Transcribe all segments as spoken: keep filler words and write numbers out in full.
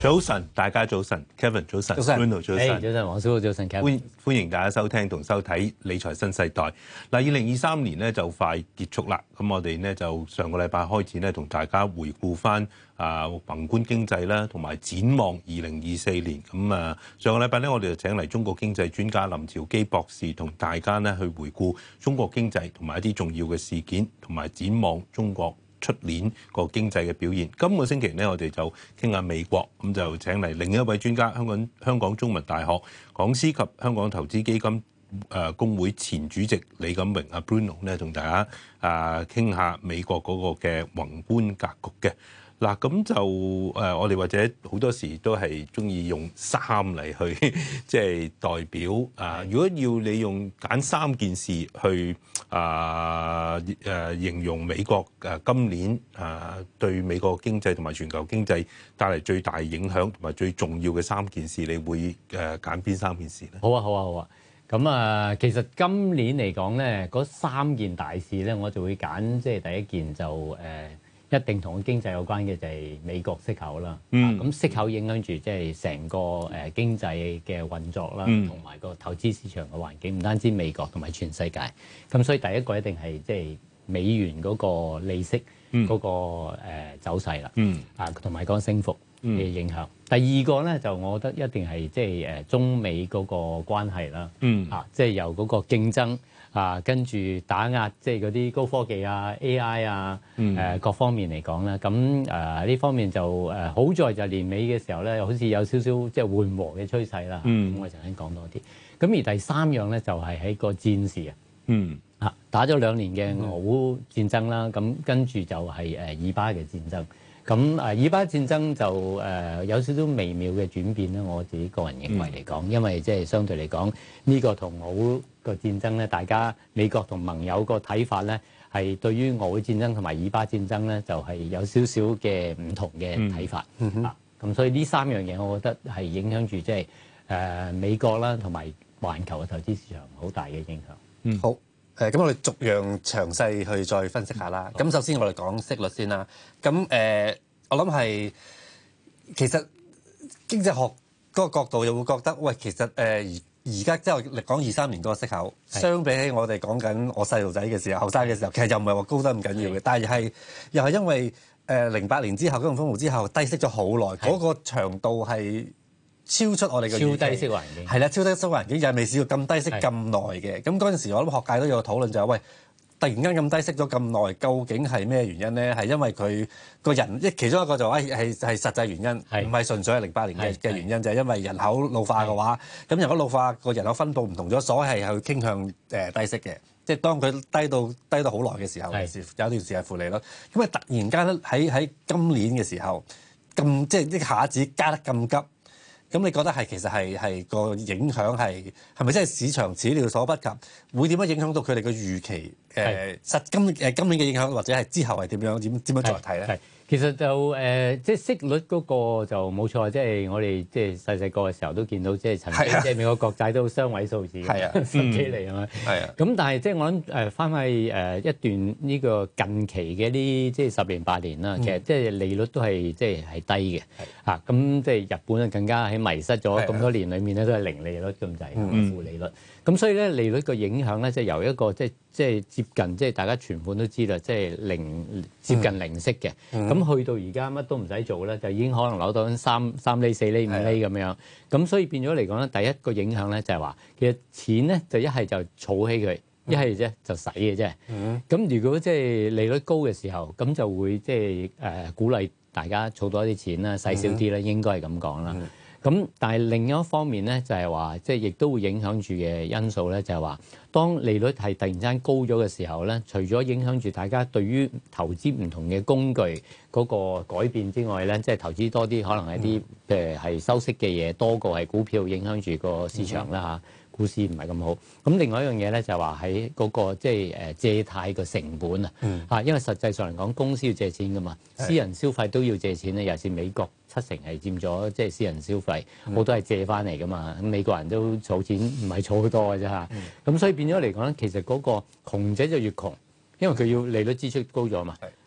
早晨，大家早晨 ，Kevin 早晨 ，Bruno 早晨， 早晨，黃師傅早晨 ，Kevin。 歡歡迎大家收聽同收睇理財新世代。嗱，二零二三年咧就快結束啦，咁我哋咧就上個禮拜開始咧同大家回顧翻啊宏觀經濟啦，同埋展望二零二四年。咁啊，上個禮拜咧我哋就請嚟中國經濟專家林樵基博士，同大家咧去回顧中國經濟同埋一啲重要嘅事件，同埋展望中國出年個經濟嘅表現。今個星期呢，我哋就傾下美國，咁就請嚟另一位專家，香港香港中文大學講師及香港投資基金誒公會前主席李錦榮阿 Bruno 咧，同大家啊傾下美國嗰個嘅宏觀格局嘅。嗱，咁就誒，我哋或者好多時都係中意用三嚟去即係代表啊。如果要你用揀三件事去啊誒形容美國誒今年啊對美國經濟同埋全球經濟帶嚟最大影響同埋最重要嘅三件事，你會誒揀邊三件事咧？ 好啊，好啊，好啊。咁啊，其實今年嚟講咧，嗰三件大事咧，我就會揀即係第一件就誒。呃一定同經濟有關嘅就係美國息口啦。嗯，咁、啊、息口影響住即係成個誒經濟嘅運作啦，同埋、嗯、個投資市場嘅環境，唔單止美國同埋全世界。咁所以第一個一定係即係美元嗰個利息嗰、嗯那個誒、呃、走勢啦。嗯，啊同埋個升幅嘅影響。嗯、第二個咧就我覺得一定係即係誒中美嗰個關係啦。嗯，啊即係、就是、由嗰個競爭。啊，跟住打壓即係嗰啲高科技啊、A I 啊，誒、嗯呃、各方面嚟講咧，咁誒呢方面就誒、呃、好在就年尾嘅時候咧，好似有少少即係緩和嘅趨勢啦。咁、嗯、我陣間講多啲。咁而第三樣咧就係、是、喺個戰事啊。嗯。啊，打咗兩年嘅俄烏戰爭啦，咁、嗯、跟住就係誒以巴嘅戰爭。咁誒以巴戰爭就誒、呃、有少少微妙嘅轉變咧，我自己個人認為嚟講，嗯、因為即係相對嚟講呢個同俄烏個戰爭咧，大家美國同盟友個睇法咧，係對於俄烏戰爭同埋以巴戰爭咧，就係、是、有少少嘅唔同嘅睇法。嗯嗯、啊，咁所以呢三樣嘢，我覺得係影響住即係誒美國啦，同埋環球嘅投資市場好大嘅影響。 嗯，好。誒咁，我哋逐樣詳細去再分析下啦。咁、嗯、首先我哋講息率先啦。咁誒、呃，我諗係其實經濟學嗰個角度又會覺得，喂，其實誒而而家即係我講二三年嗰個息口，是相比起我哋講緊我細路仔嘅時候、後生嘅時候，其實又唔係話高得咁緊要嘅。是但係係又係因為誒零八年之後金融風暴之後低息咗好耐，嗰是個長度係超出我哋嘅預期， 超低息環境係啦，超低息環境又係未試過咁低息咁耐嘅。咁嗰陣時，我諗學界都有討論就係、是、喂，突然間咁低息咗咁耐，究竟係咩原因咧？係因為佢個人一其中一個就話係係係實際原因，唔係純粹係零八年嘅嘅原因，就係因為人口老化嘅話，咁人口老化個人口分佈唔同咗，所以係去傾向誒低息嘅。即係當佢低到低到好耐嘅時候，是有一段時間負利率。咁啊，突然間喺喺今年嘅時候咁即係一下子加得咁急。咁你覺得係其實係係個影響係係咪真係市場始料所不及？會點樣影響到佢哋嘅預期？誒是實今誒今年嘅影響，或者係之後係點樣點點樣再睇咧？ 其實就誒、呃，即係息率嗰個就冇錯，即係我哋即係細細個嘅時候都見到，即係曾經即係美國國債都雙位數字，係啊，十幾厘係咪？係啊。咁但係即係我諗誒，翻去誒一段呢個近期嘅啲即係十年八年啦，其實即係利率都係即係係低嘅嚇。咁即係日本啊更加喺迷失咗咁多年裡面咧，都係零利率咁滯，負利率。咁所以咧利率個影響咧，即係由一個即係即係接近即係大家存款都知啦，即係零接近零息嘅。咁去到而家乜都唔使做咧，就已經可能攞到三三厘、四厘、五厘咁樣。咁所以變咗嚟講咧，第一個影響咧就係話，其實錢咧就一係就儲起佢，一係啫就使嘅啫。咁如果即係利率高嘅時候，咁就會即係誒鼓勵大家儲多啲錢啦，使少啲啦，應該係咁講啦。咁但係另一方面咧，就係話即係亦都會影響住嘅因素咧，就係話當利率係突然間高咗嘅時候咧，除咗影響住大家對於投資唔同嘅工具嗰個改變之外咧，即係投資多啲可能係啲誒係收息嘅嘢多過係股票，影響住個市場啦嚇。股市唔係咁好，咁另外一樣嘢咧就係話喺嗰個即係誒借貸嘅成本啊，嚇、嗯，因為實際上嚟講，公司要借錢噶嘛，是私人消費都要借錢咧，尤其是美國七成係佔咗即係私人消費，好多係借翻嚟噶嘛，咁美國人都儲錢唔係儲好多嘅啫嚇，咁、嗯、所以變咗嚟講咧，其實嗰個窮者就越窮，因為佢要利率支出高咗嘛，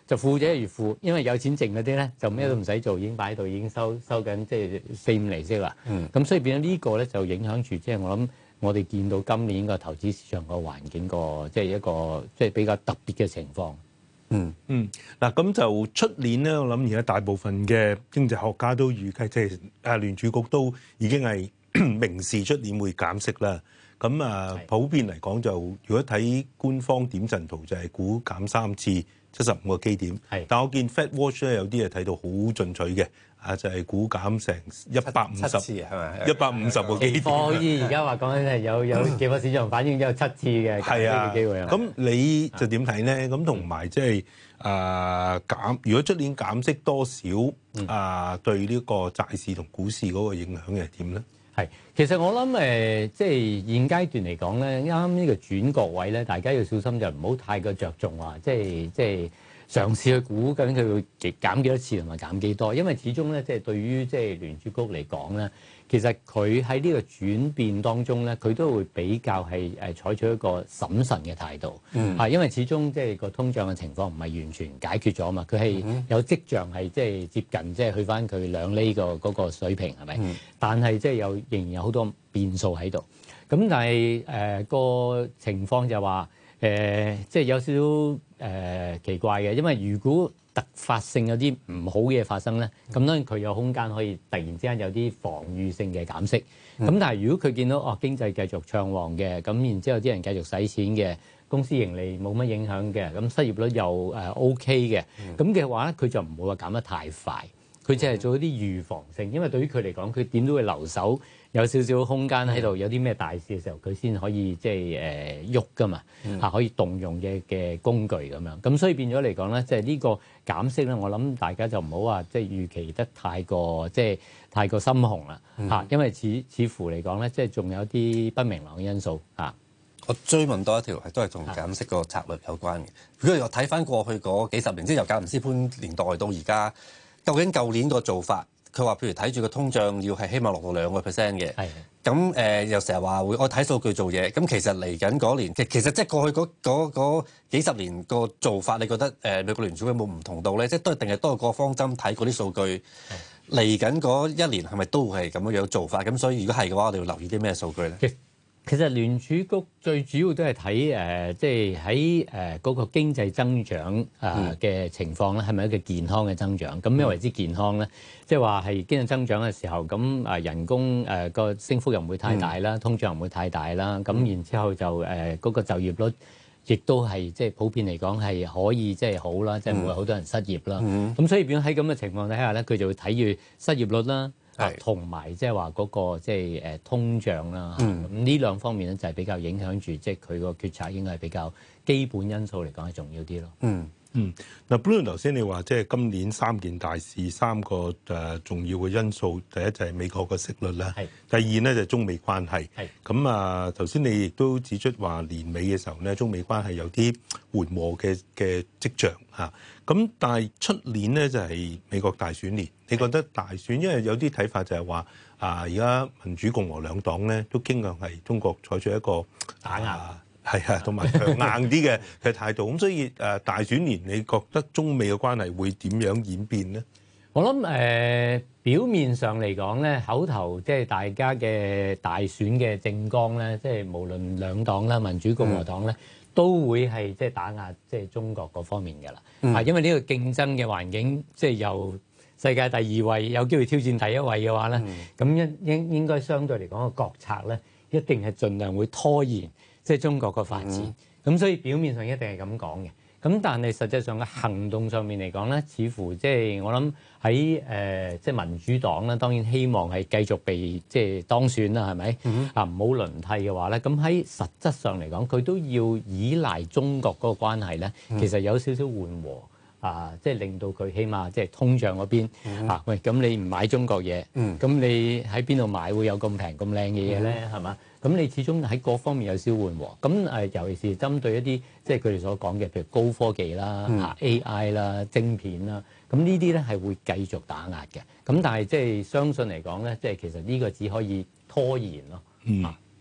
就富者越富，因為有錢剩嗰啲咧就咩都唔使做，已經擺喺度，已經收收緊即係四五厘息啦。咁、嗯、所以變咗呢個咧就影響住即係我諗我哋見到今年個投資市場個環境個即係一個即係比較特別嘅情況。 嗯嗯，嗱咁就出年咧，我諗而家大部分嘅經濟學家都預計即係啊聯儲局都已經係明示出年會減息啦。咁啊，普遍嚟講就如果睇官方點陣圖就係估減三次七十五個基點。係，但我見 Fed Watch 咧有啲係睇到好進取嘅，啊就係、是、估減成一百五十次係咪？一百五十個基點。 可以而家話講緊係有有期貨市場反映有七次嘅減息嘅機會啊。咁你就點睇咧？咁同埋即係啊減，如果出年減息多少啊，對呢個債市同股市嗰個影響係點咧？ 係，其實我諗誒，即係現階段嚟講咧，啱啱呢個轉角位咧，大家要小心就唔好太過着重話，即係即係嘗試去估究竟佢會減幾多次同埋減幾多，因為始終咧，即係對於即係聯儲局嚟講咧，其實佢喺呢個轉變當中咧，佢都會比較係誒採取一個審慎嘅態度，嗯，因為始終即係個通脹嘅情況唔係完全解決咗嘛，佢係有跡象係即係接近即係去翻佢兩厘個嗰個水平係咪？嗯，但係即係有仍然有好多變數喺度，咁但係誒個情況就話誒即係有少少誒、呃、奇怪嘅，因為如果突發性有啲唔好嘅嘢發生咧，咁當然佢有空間可以突然之間有啲防禦性嘅減息。咁、嗯、但係如果佢見到哦經濟繼續暢旺嘅，咁然之後啲人繼續使錢嘅，公司盈利冇乜影響嘅，咁失業率又誒 OK 嘅，咁嘅話咧，佢就唔會話減得太快，佢只係做一啲預防性，因為對於佢嚟講，佢點都會留守。有少少空間喺度，有啲咩大事嘅時候，佢先可以即係誒喐噶嘛嚇、嗯，可以動用嘅嘅工具咁樣。咁所以變咗嚟講咧，即係呢個減息咧，我諗大家就唔好話即係預期得太過即係太過心紅啦嚇、嗯，因為似似乎嚟講咧，即係仲有啲不明朗嘅因素嚇。 我追問多一條係都係同減息個策略有關嘅。如果我睇翻過去嗰幾十年，即係由格林斯潘年代到而家，究竟舊年個做法？佢話：譬如睇住個通脹要係希望落到兩個 percent 嘅，咁誒又成日話會我睇數據做嘢。咁其實嚟緊嗰年，其其實即係過去嗰嗰嗰幾十年個做法，你覺得誒美國聯儲有冇唔同到咧？即係都係定係多個方針睇嗰啲數據。嚟緊嗰一年係咪都係咁樣樣做法？咁所以如果係嘅話，我哋要留意啲咩數據咧？ 其實聯儲局最主要都係睇誒，即係喺誒嗰個經濟增長誒嘅情況咧，係咪一個健康嘅增長？咁咩為之健康咧？即係話係經濟增長嘅時候，咁誒人工誒個升幅又唔會太大啦，通脹又唔會太大啦。咁然之後就誒嗰個就業率亦都係即係普遍嚟講係可以即係好啦，即係唔會好多人失業啦。咁所以變咗喺咁嘅情況底下咧，佢就會睇住失業率啦。同埋即係話嗰個即係誒通脹啦，咁呢、嗯、兩方面咧就係比較影響住，即係佢個決策應該係比較基本因素嚟講係重要啲咯。嗯嗯，嗱 Bruno 頭先你話即係今年三件大事，三個誒重要嘅因素，第一就係美國嘅息率啦，第二咧就係中美關係。咁啊頭先你亦都指出話年尾嘅時候咧，中美關係有啲緩和嘅嘅跡象嚇。咁但係出年咧就係美國大選年，你覺得大選？因為有啲睇法就係話啊，而家民主共和兩黨咧都傾向係中國採取一個打壓，係啊，同埋強硬啲嘅嘅態度。咁所以誒大選年，你覺得中美嘅關係會點樣演變咧？ 我諗誒、呃、表面上嚟講咧，口頭即係大家嘅大選嘅政綱咧，即係無論兩黨啦，民主共和黨咧。嗯都會係即係打壓即係中國嗰方面嘅啦，啊、嗯，因為呢個競爭嘅環境，即係由世界第二位有機會挑戰第一位嘅話咧，咁應應應該相對嚟講個國策咧，一定係盡量會拖延即係中國個發展，咁、嗯、所以表面上一定係咁講嘅。咁但係實際上嘅行動上面嚟講咧，似乎即係我諗喺誒即係民主黨咧，當然希望係繼續被即係當選啦，係咪？嗯、啊唔好輪替嘅話咧，咁喺實質上嚟講，佢都要依賴中國嗰個關係咧，其實有少少緩和啊，即係令到佢起碼即係通脹嗰邊、嗯、啊，喂，咁你唔買中國嘢，咁、嗯、你喺邊度買會有咁平咁靚嘅嘢咧？係、嗯、嘛？咁你始終喺各方面有少緩和，咁誒尤其是針對一啲即係佢哋所講嘅，譬如高科技啦、嗯、A I 啦、晶片啦，咁呢啲咧係會繼續打壓嘅。咁但係即係相信嚟講咧，即係其實呢個只可以拖延咯。嗯。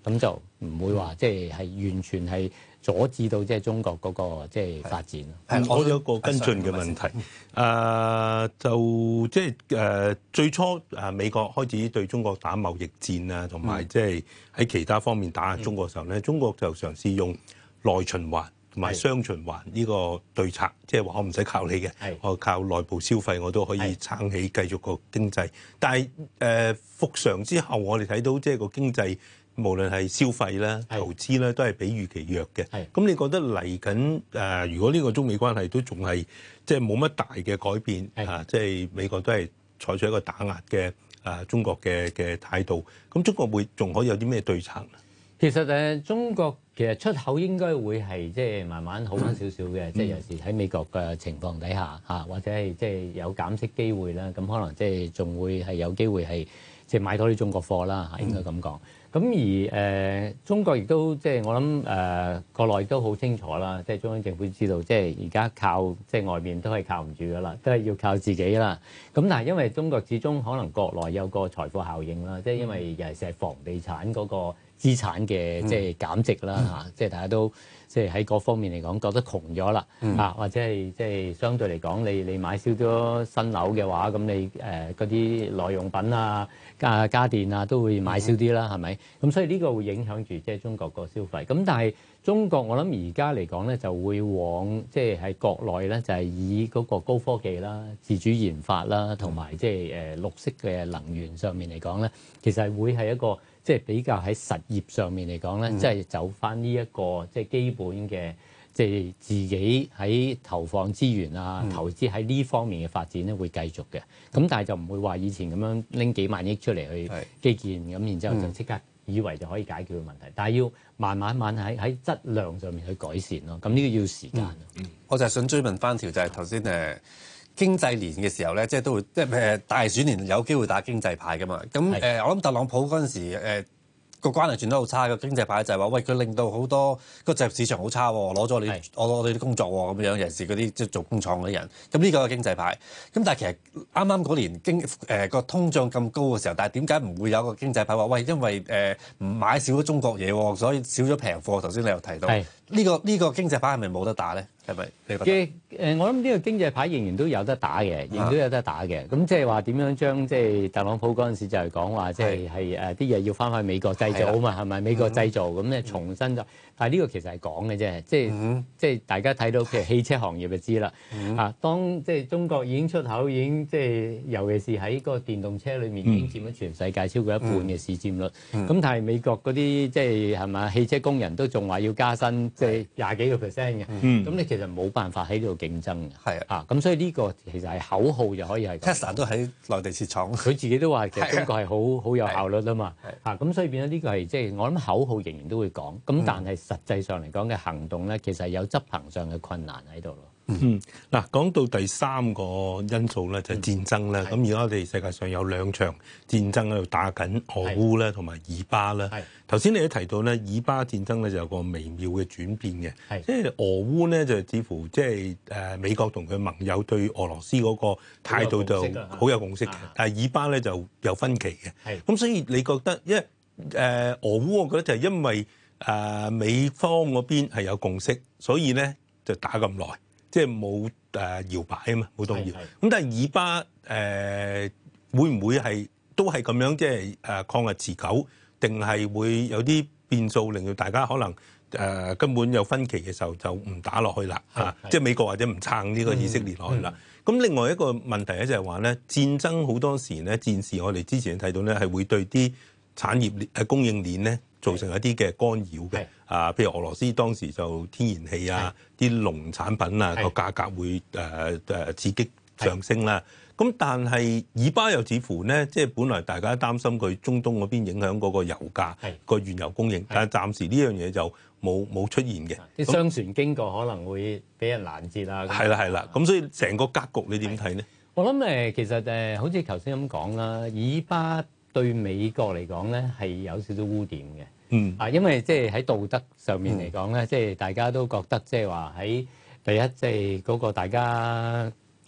咁就唔會話即係係完全係阻止到即係中國嗰個即係發展。 係，我有個跟進嘅問題，誒、呃、就即係誒最初誒美國開始對中國打貿易戰啊，同埋即係喺其他方面打壓中國嘅時候咧，嗯、中國就嘗試用內循環同埋雙循環呢個對策，即係話我唔使靠你嘅，我靠內部消費我都可以撐起繼續個經濟。但係誒復常之後，我哋睇到即係個經濟。無論係消費啦、投資咧，都係比預期弱嘅。咁你覺得嚟緊誒，如果呢個中美關係都仲係即係冇乜大嘅改變啊，即係美國都係採取一個打壓嘅誒中國嘅嘅態度，咁中國會仲可以有啲咩對策？ 其實誒，中國其實出口應該會係即係慢慢好翻少少嘅，即係有時喺美國嘅情況底下嚇，或者係即係有減息機會啦，咁可能即係仲會係有機會係即係買多啲中國貨啦嚇，應該咁講。咁而誒、呃、中國亦都即係我諗誒、呃、國內都好清楚啦，即係中央政府知道，即係而家靠即係外面都係靠唔住噶啦，都係要靠自己啦。咁但係因為中國始終可能國內有個財富效應啦，即係因為尤其是係房地產嗰個資產嘅即係減值啦嚇，即係大家都即係喺各方面嚟講覺得窮咗啦啊，或者係即係相對嚟講，你你買少咗新樓嘅話，咁你誒嗰啲耐用品啊、家家電啊都會買少啲啦，係咪？咁所以呢個會影響住即係中國個消費。咁但係中國我諗而家嚟講咧，就會往即係喺國內咧，就係以嗰個高科技啦、自主研發啦，同埋即係誒綠色嘅能源上面嚟講咧，其實係會係一個即係比較喺實業上面嚟講咧，即係走翻呢一個即係基本嘅。即係自己喺投放資源啊，嗯、投資喺呢方面嘅發展咧，會繼續嘅。咁但係就唔會話以前咁樣拎幾萬億出嚟去基建，咁然之後就即刻以為就可以解決嘅問題。嗯、但係要慢慢慢喺喺質量上面去改善咯。咁呢個要時間。嗯、 我就係想追問翻條，就係頭先誒經濟年嘅時候咧，即係都會即係誒大選年有機會打經濟牌噶嘛。咁誒、呃、我諗特朗普嗰陣時、呃個關係轉得好差，個經濟牌就係話，喂，佢令到好多個就業市場好差喎，攞咗你，我攞你啲工作喎，咁樣尤其是嗰啲即係做工廠嗰啲人，咁呢個係經濟牌。咁但係其實啱啱嗰年經誒個、呃、通脹咁高嘅時候，但係點解唔會有個經濟牌話，喂，因為誒唔、呃、買少咗中國嘢喎，所以少咗平貨。頭先你又提到呢、呢個呢、呢個經濟牌係咪冇得打咧？係咪你覺得？嘅誒，我諗呢個經濟牌仍然都有得打嘅，仍然都有得打嘅。咁即係話點樣將即係特朗普嗰陣時就係講話，即係係誒啲嘢要翻返美國製造啊嘛，係咪美國製造咁咧重新就？但係呢個其實係講嘅啫，即係即係大家睇到譬如汽車行業就知啦。啊，當即係中國已經出口已經即係，尤其是喺個電動車裏面已經佔咗全世界超過一半嘅市佔率。咁但係美國嗰啲即係係咪汽車工人都仲話要加薪，即係廿幾個 percent 嘅。咁你其實冇辦法喺呢度競爭嘅。係啊，咁所以呢個其實係口號就可以係。 Tesla 都喺內地設廠， 佢自己都話其實中國係好好有效率啊嘛。啊，咁所以變咗呢個係即係我諗口號仍然都會講，咁但係實際上嚟講嘅行動咧，其實有執行上嘅困難喺度咯。 嗯，嗱，講到第三個因素咧，就係戰爭啦。咁而家我哋世界上有兩場戰爭喺度打緊，俄烏咧同埋以巴啦。頭先你都提到咧，以巴戰爭咧就有個微妙嘅轉變嘅，即係俄烏咧就似乎即係誒美國同佢盟友對俄羅斯嗰個態度就好有共識嘅，但係以巴咧就有分歧嘅。咁所以你覺得，因為誒、呃、俄烏，我覺得就係因為誒、呃、美方嗰邊係有共識，所以咧就打咁耐。即係冇誒搖擺啊嘛，冇動搖。咁但係以巴誒、呃、會唔會係都係咁樣，即係誒抗日持久，定係會有啲變數，令到大家可能誒、呃、根本有分歧嘅時候就唔打落去啦嚇。即係美國或者唔撐呢個以色列落去啦。咁、嗯嗯、另外一個問題咧就係話咧，戰爭好多時咧，戰事我哋之前睇到咧係會對啲產業鏈誒供應鏈咧造成一啲嘅干擾嘅。啊，譬如俄羅斯當時就天然氣啊，啲農產品啊個價格會誒誒、呃、刺激上升啦。咁但係以巴又似乎咧，即係本來大家擔心佢中東嗰邊影響嗰個油價個原油供應，但係暫時呢樣嘢就冇冇出現嘅。 啲商船經過可能會俾人攔截啊。 係啦係啦，咁所以成個格局你點睇呢？ 我諗誒，其實誒，好似頭先咁講啦，以巴對美國嚟講咧係有少少污點嘅。嗯啊，因為即係喺道德上面嚟講咧，即係、嗯、大家都覺得即係話喺第一，即係嗰個大家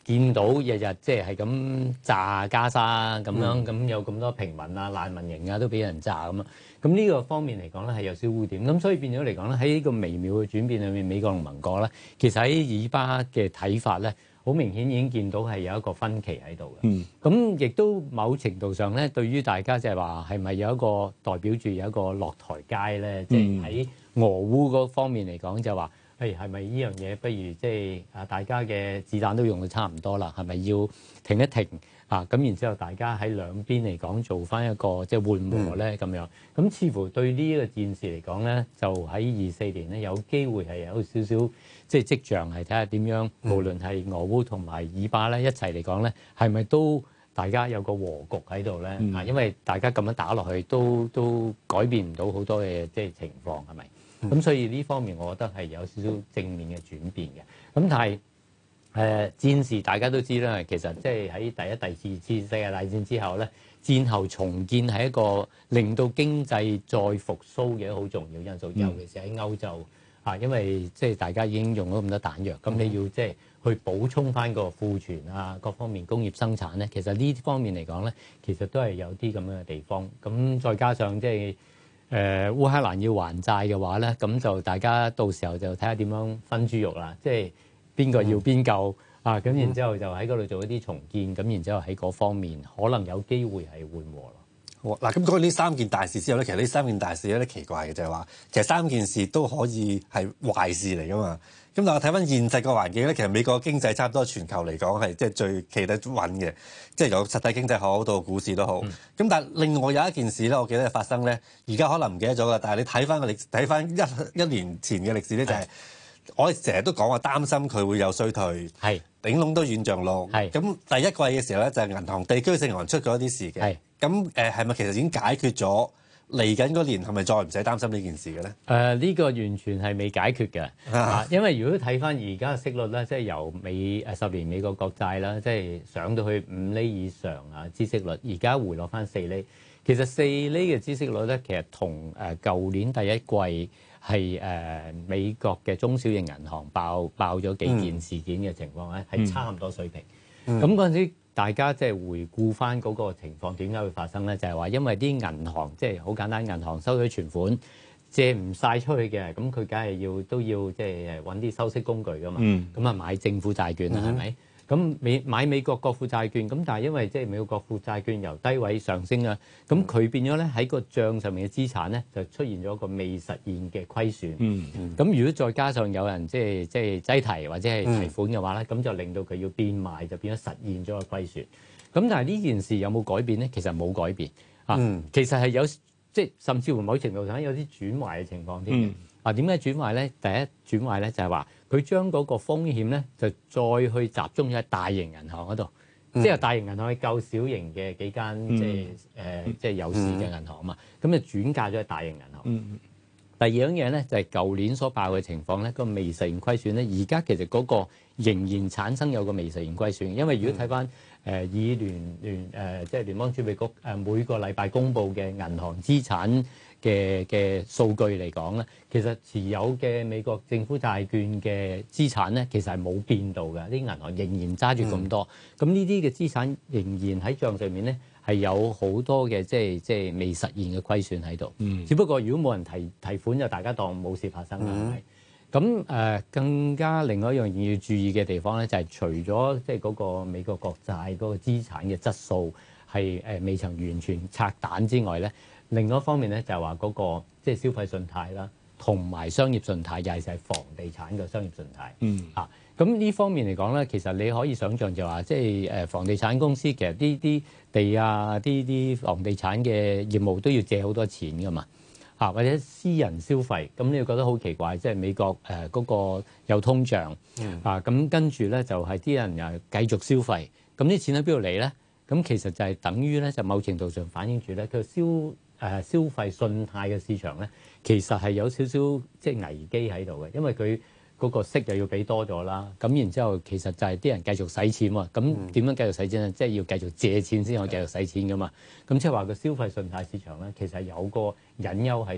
見到日日即係係咁炸加沙咁樣，咁、嗯、有咁多平民啊、難民營啊都俾人炸咁啊。咁呢個方面嚟講咧係有少污點，咁所以變咗嚟講咧喺呢個微妙嘅轉變裏面，美國同盟國咧其實喺以巴嘅睇法咧，好明顯已經見到係有一個分歧喺度嘅。咁、嗯、亦都某程度上咧，對於大家即係話係咪有一個代表住有一個落台階咧？即係喺俄烏嗰方面嚟講，就話誒係咪呢樣嘢不如即係啊大家嘅子彈都用到差唔多啦，係咪要停一停？啊，咁然之後，大家喺兩邊嚟講做翻一個即係緩和咧咁樣，咁似乎對呢一個戰事嚟講咧，就喺二四年咧有機會係有少少即係跡象係睇下點樣，無論係俄烏同埋以巴咧一齊嚟講咧，係咪都大家有個和局喺度咧？啊，因為大家咁樣打落去都都改變唔到好多嘅即係情況係咪？咁所以呢方面我覺得係有少少正面嘅轉變嘅。咁但係誒、呃、戰事大家都知啦，其實即係喺第一、第二次世界大戰之後咧，戰後重建係一個令到經濟再復甦嘅好重要因素，尤其是喺歐洲啊，因為即係大家已經用咗咁多彈藥，咁你要即係去補充翻個庫存啊，各方面工業生產咧，其實呢方面嚟講咧，其實都係有啲咁樣嘅地方。咁再加上即係誒烏克蘭要還債嘅話咧，咁就大家到時候就睇下點樣分豬肉啦，即係。邊個要邊救、嗯、啊？咁然之後就喺嗰度做一啲重建，咁、嗯、然之後喺嗰方面可能有機會係緩和咯。 嗱，咁講完呢三件大事之後咧，其實呢三件大事有啲奇怪嘅就係話，其實三件事都可以係壞事嚟噶嘛。咁但係我睇翻現實個環境咧，其實美國經濟差唔多全球嚟講係即係最企得穩嘅，即係由實體經濟好到股市都好。咁、嗯、但係另外有一件事咧，我記得係發生咧，而家可能唔記得咗啦。但係你睇翻個歷睇翻一一年前嘅歷史咧，就係、是。我哋成日都講話擔心佢會有衰退，係頂籠都軟着陸。係咁第一季嘅時候咧，就係銀行地區性銀行出咗一啲事嘅。係咁誒，係咪其實已經解決咗？嚟緊嗰年係咪再唔使擔心呢件事嘅咧？誒、 呃，呢、這個完全係未解決嘅、啊，因為如果睇翻而家嘅息率咧，即係由美誒十年美國國債啦，即係上到去五厘以上啊，孳息率，而家回落翻四厘。其實四厘嘅孳息率咧，其實同誒舊年第一季。係誒、呃、美國嘅中小型銀行爆爆咗幾件事件嘅情況咧，係、嗯、差唔多水平。咁嗰陣時，大家即係回顧翻嗰個情況，點解會發生咧？就係、是、話因為啲銀行即係好簡單，銀行收咗存款借唔晒出去嘅，咁佢梗係要都要即係揾啲收息工具噶嘛。咁、嗯、啊買政府債券啦，係、嗯、咪？咁美買美國國庫債券，咁但係因為即係美國國庫債券由低位上升啦，咁佢變咗咧喺個帳上面嘅資產咧就出現咗一個未實現嘅虧損。嗯嗯。咁如果再加上有人即係即係擠提或者係提款嘅話咧，咁、嗯、就令到佢要變賣，就變咗實現咗個虧損。咁但係呢件事有冇改變咧？其實冇改變啊、嗯。其實係有即係甚至乎某程度上有啲轉壞嘅情況添。嗯。啊，點解轉壞咧？第一轉壞咧就係話佢將嗰個風險咧就再去集中喺大型銀行嗰度、嗯，即係大型銀行去救小型嘅幾間、嗯、即係誒、呃、即係有市嘅銀行啊嘛，咁、嗯、就轉嫁咗喺大型銀行。嗯、第二樣嘢咧就係、是、舊年所爆嘅情況咧，個未實現虧損咧，而家其實嗰個仍然產生有個未實現虧損，因為如果睇翻誒以聯聯誒即係聯邦儲備局誒每個禮拜公布嘅銀行資產嘅嘅數據嚟講咧，其實持有嘅美國政府債券嘅資產咧，其實係冇變到嘅，啲銀行仍然揸住咁多。咁呢啲嘅資產仍然喺帳上面咧，係有好多嘅即係即係未實現嘅虧損喺度。嗯。只不過如果冇人提提款，就大家當冇事發生啦。係、嗯。咁誒、呃，更加另外一樣嘢要注意嘅地方咧，就係、是、除咗即係嗰個美國國債嗰個資產嘅質素係誒未曾完全拆彈之外咧。另外一方面咧，就係話嗰個即係消費信貸啦，同埋商業信貸，尤其是係房地產嘅商業信貸。嗯。啊，咁呢方面嚟講咧，其實你可以想象就話，即係誒房地產公司其實呢啲地啊，啲啲房地產嘅業務都要借好多錢噶嘛。啊，或者私人消費，咁你會覺得好奇怪，即係美國誒嗰個有通脹。嗯。啊，咁跟住咧就係啲人又繼續消費，咁啲錢喺邊度嚟咧？咁其實就係等於咧，就某程度上反映住咧，佢消誒消費信貸嘅市場咧，其實係有少少即係危機喺度嘅，因為佢嗰個息又要俾多咗啦，咁然之後其實就係啲人繼續使錢喎，咁點樣繼續使錢咧？即係要繼續借錢先可以繼續使錢噶嘛，咁即係話個消費信貸市場咧，其實有個隱憂喺度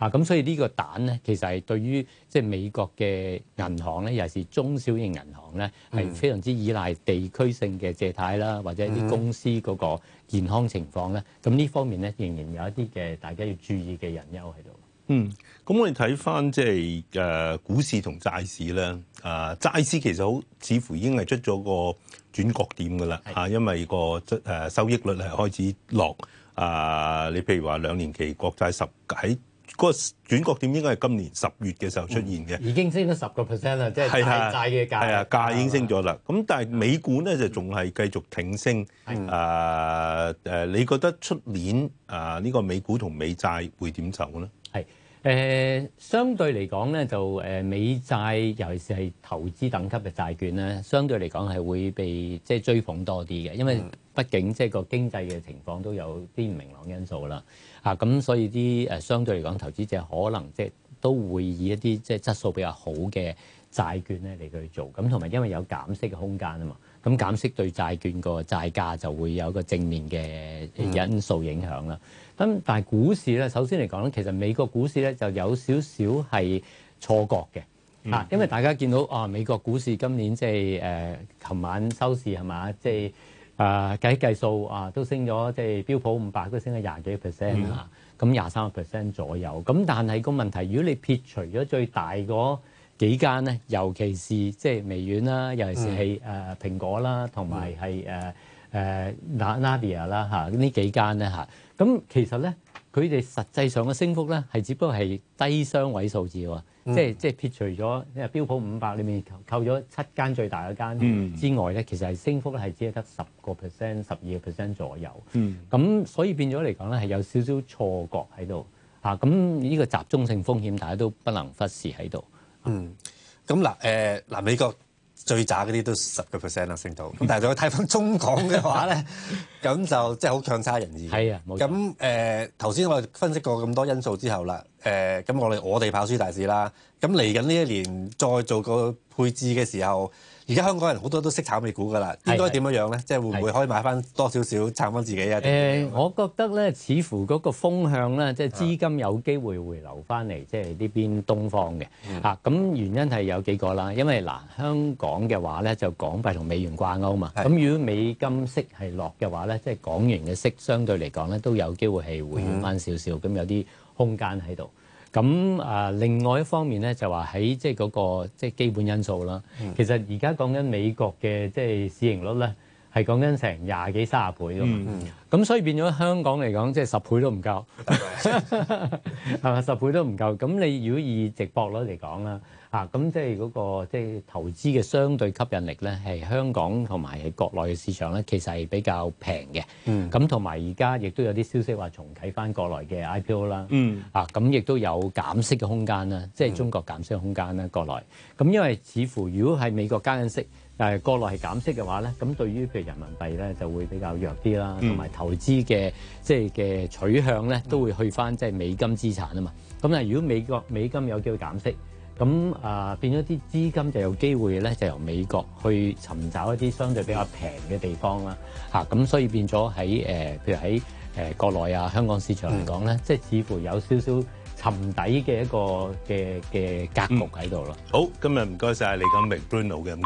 啊，咁所以呢個蛋咧，其實係對於即係美國嘅銀行咧，尤其是中小型銀行咧，係非常之依賴地區性嘅借貸啦，或者啲公司嗰個健康情況咧。咁呢方面咧，仍然有一啲嘅大家要注意嘅隱憂喺度。 嗯，咁我哋睇翻即係誒股市同債市咧，啊、呃、債市其實好似乎已經係出咗個轉角點㗎啦，啊，因為個誒收益率係開始落，啊、呃，你譬如話兩年期國債十喺嗰個轉角點應該係今年十月嘅時候出現嘅、嗯， 已經升咗十個 percent 啦，即係債債嘅價， 係啊，價已經升咗啦。咁但係美股咧就仲係繼續挺升，啊誒，你覺得出年啊呢個美股同美債會點走咧？ 係。誒、呃，相對嚟講咧，就誒、呃、美債，尤其是係投資等級嘅債券咧，相對嚟講係會被即係追捧多啲嘅，因為畢竟即係個經濟嘅情況都有啲唔明朗因素啦。啊，咁所以啲誒、呃、相對嚟講，投資者可能即係都會以一啲即係質素比較好嘅債券咧嚟去做。咁同埋因為有減息嘅空間啊嘛，咁減息對債券個債價就會有一個正面嘅因素影響啦。咁但係股市咧，首先嚟講咧，其實美國股市咧就有少少係錯覺嘅嚇，因為大家見到啊，美國股市今年即係誒，琴晚收市係嘛，即係啊計計數啊，都升咗，即係標普五百都升咗廿幾 percent 啊，咁廿三個 percent 左右。咁但係個問題，如果你撇除咗最大嗰幾間咧，尤其是即係微軟啦，尤其是係誒蘋果啦，同埋係誒誒 Nvidia 啦嚇，呢幾間咧嚇。咁其實咧，佢哋實際上嘅升幅咧，係只不過係低雙位數字喎、嗯，即係即係撇除咗因為標普五百裏面扣咗七間最大嗰間之外咧、嗯，其實係升幅咧係只係得十個 percent、十二個 percent 左右。咁、嗯、所以變咗嚟講咧，係有少少錯覺喺度嚇。咁呢個集中性風險，大家都不能忽視喺度。嗯， 咁嗱誒嗱美國。最渣嗰啲都十個 percent 啦，升到。咁但係如果睇翻中港嘅話咧，咁就即係好強差人意。 係啊，冇錯。 咁誒頭先我哋分析過咁多因素之後啦，誒、呃、咁我哋我哋跑輸大市啦。咁嚟緊呢一年再做個配置嘅時候，而家香港人好多都識炒美股㗎啦，應該點樣樣咧？即係會唔會可以買翻多少少撐翻自己啊？誒、 呃，我覺得咧，似乎嗰個風向咧，即係資金有機會回流翻嚟，即係呢邊東方嘅嚇。咁、嗯啊、原因係有幾個啦，因為嗱、呃、香港嘅話咧，就港幣同美元掛鈎嘛。咁如果美金息係落嘅話咧，即係港元嘅息相對嚟講咧，都有機會係回軟翻少少，咁、嗯、有啲空間喺度。咁啊，另外一方面咧，就話喺即係嗰個即係基本因素啦、嗯。其實而家講緊美國嘅即係市盈率咧，係講緊成廿幾三十倍㗎嘛。咁、嗯、所以變咗香港嚟講，即係十倍都唔夠，係嘛？十倍都唔夠。咁你如果以值博率嚟講啦，啊，咁即係嗰個即係投資嘅相對吸引力咧，係香港同埋係國內嘅市場咧，其實係比較平嘅。咁同埋而家亦都有啲消息話重啟翻國內嘅 I P O 啦。嗯。啊，咁亦都有減息嘅空間啦，即係中國減息嘅空間啦，國內。咁因為似乎如果係美國加緊息，但係國內係減息嘅話咧，咁對於譬如人民幣咧就會比較弱啲啦，同埋投資嘅即係嘅取向咧都會去翻即係美金資產啊嘛。咁啊，如果美國美金有機會減息，咁啊、呃、變咗啲資金就有機會咧，就由美國去尋找一啲相對比較平嘅地方啦，嚇咁所以變咗喺誒，譬如喺誒、呃、國內啊、香港市場嚟講咧，即係似乎有少少沉底嘅一個嘅嘅格局喺度咯。 好，今日唔該晒李錦榮 Bruno 嘅。